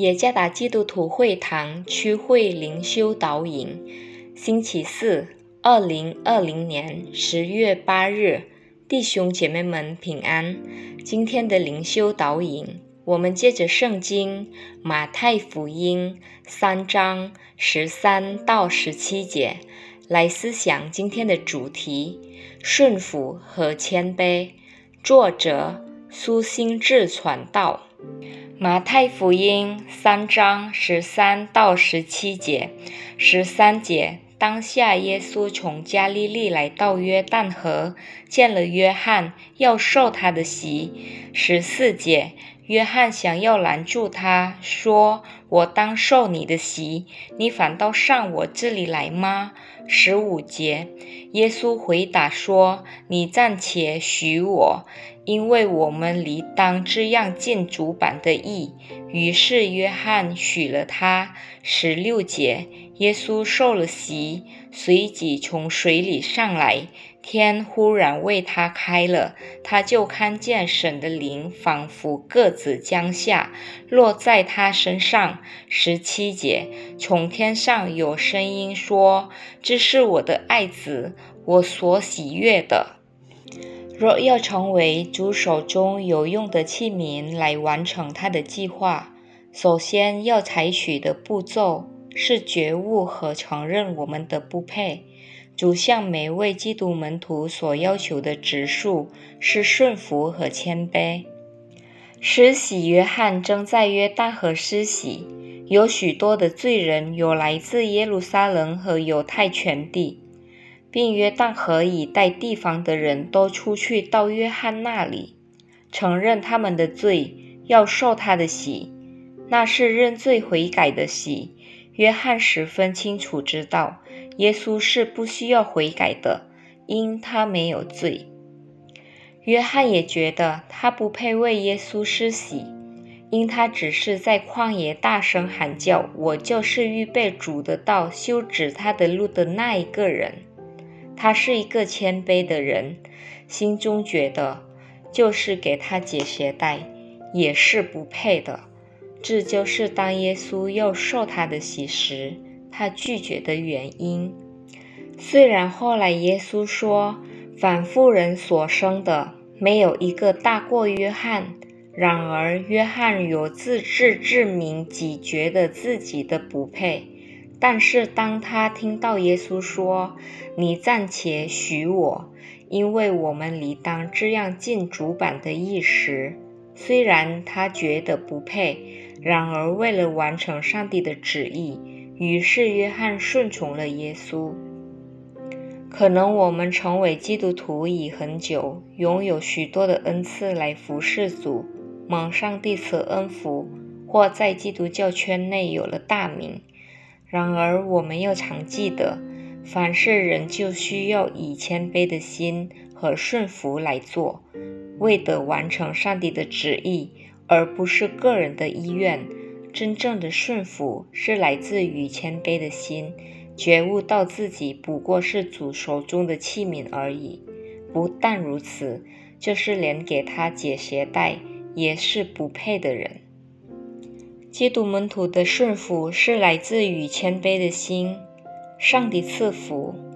耶加达基督徒会堂区会灵修导引，星期四，2020年10月8日，弟兄姐妹们平安。今天的灵修导引，我们借着圣经马太福音3章13到17节来思想今天的主题：顺服和谦卑。作者苏心志传道。马太福音3章13到17节，13节，当下耶稣从加利利来到约旦河，见了约翰，要受他的洗。14节，约翰想要拦住他，说：我当受你的洗，你反倒上我这里来吗？15节，耶稣回答说：你暂且许我，因为我们理当这样尽主板的义。于是约翰许了他。16节，耶稣受了洗，随即从水里上来，天忽然为他开了，他就看见神的灵仿佛鸽子降下，落在他身上。17节，从天上有声音说：这是我的爱子，我所喜悦的。若要成为主手中有用的器皿来完成他的计划，首先要采取的步骤是觉悟和承认我们的不配。主向每位基督门徒所要求的质数是顺服和谦卑。施洗约翰正在约旦河施洗，有许多的罪人有来自耶路撒冷和犹太全地，并约旦河以带地方的人都出去到约翰那里，承认他们的罪，要受他的洗。那是认罪悔改的洗。约翰十分清楚知道，耶稣是不需要悔改的，因他没有罪。约翰也觉得他不配为耶稣施洗，因他只是在旷野大声喊叫：我就是预备主的道，修直他的路的那一个人。他是一个谦卑的人，心中觉得就是给他解鞋带也是不配的。这就是当耶稣要受他的洗时，他拒绝的原因。虽然后来耶稣说，凡妇人所生的，没有一个大过约翰，然而约翰有自知之明，即觉得自己的不配。但是当他听到耶稣说：你暂且许我，因为我们理当这样尽主板的义时，虽然他觉得不配，然而为了完成上帝的旨意，于是约翰顺从了耶稣。可能我们成为基督徒已很久，拥有许多的恩赐来服侍主，蒙上帝赐恩福，或在基督教圈内有了大名。然而我们要常记得，凡事人就需要以谦卑的心和顺服来做，为得完成上帝的旨意，而不是个人的意愿。真正的顺服是来自于谦卑的心，觉悟到自己不过是主手中的器皿而已。不但如此，就是连给他解鞋带也是不配的人。基督门徒的顺服是来自于谦卑的心。上帝赐福，